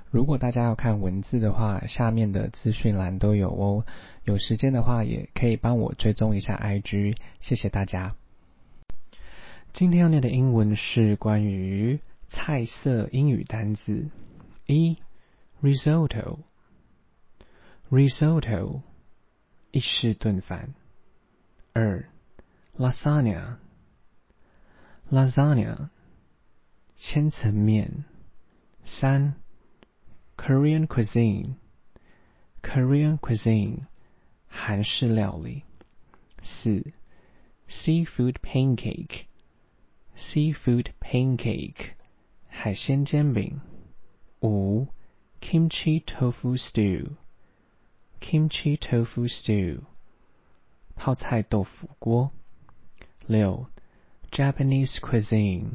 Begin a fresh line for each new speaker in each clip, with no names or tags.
如果大家要看文字的話，下面的資訊欄都有哦。有時間的話，也可以幫我追蹤一下 IG， 謝謝大家。今天要念的英文是關於菜色英語單字。1. Risotto Risotto 意式燉飯。2. Lasagna Lasagna 千層麵。3. Korean cuisine Korean cuisine 韓式料理。4. Seafood pancake Seafood pancake 海鮮煎餅。5. Kimchi tofu stew Kimchi tofu stew 泡菜豆腐鍋。6. Japanese cuisine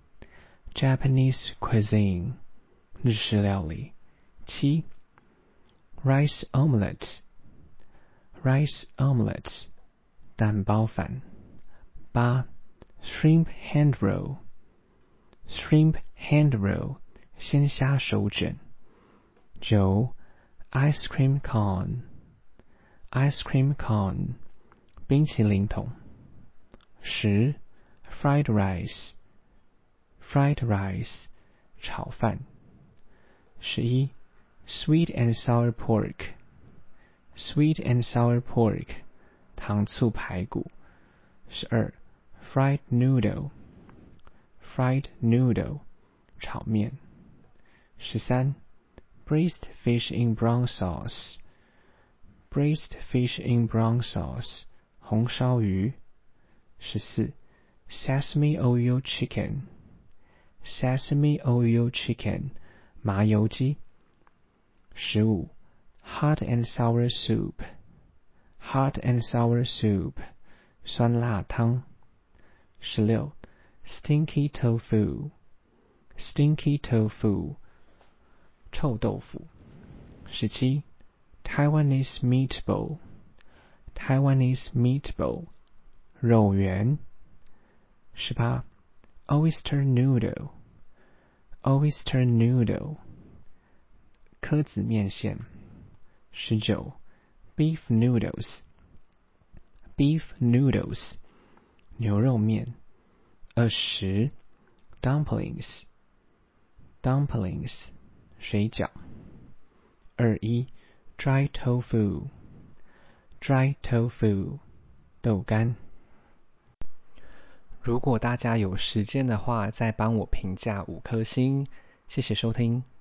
Japanese cuisine 日式料理。7. Rice omelette Rice omelette 蛋包飯。8. Shrimp hand roll Shrimp hand roll 鮮蝦手卷。9. Ice cream cone Ice cream cone 冰淇淋桶。10. Fried rice Fried rice 炒飯。11. Sweet and sour pork Sweet and sour pork 糖醋排骨。12. Fried noodle Fried noodle 炒麵。13. Braised fish in brown sauce Braised fish in brown sauce 紅燒魚。14. Sesame oil chicken Sesame oil chicken 麻油雞。15. Hot and sour soup Hot and sour soup 酸辣湯。16. Stinky tofu Stinky tofu 臭豆腐。17. Taiwanese meatball Taiwanese meatball 肉圓。18. Oyster noodle Oyster noodle 蚵仔麵線。19. Beef noodles Beef noodles 牛肉麵。20. Dumplings Dumplings 水餃。21. Dry tofu Dry tofu 豆乾。如果大家有時間的話，再幫我評價5顆星，謝謝收聽。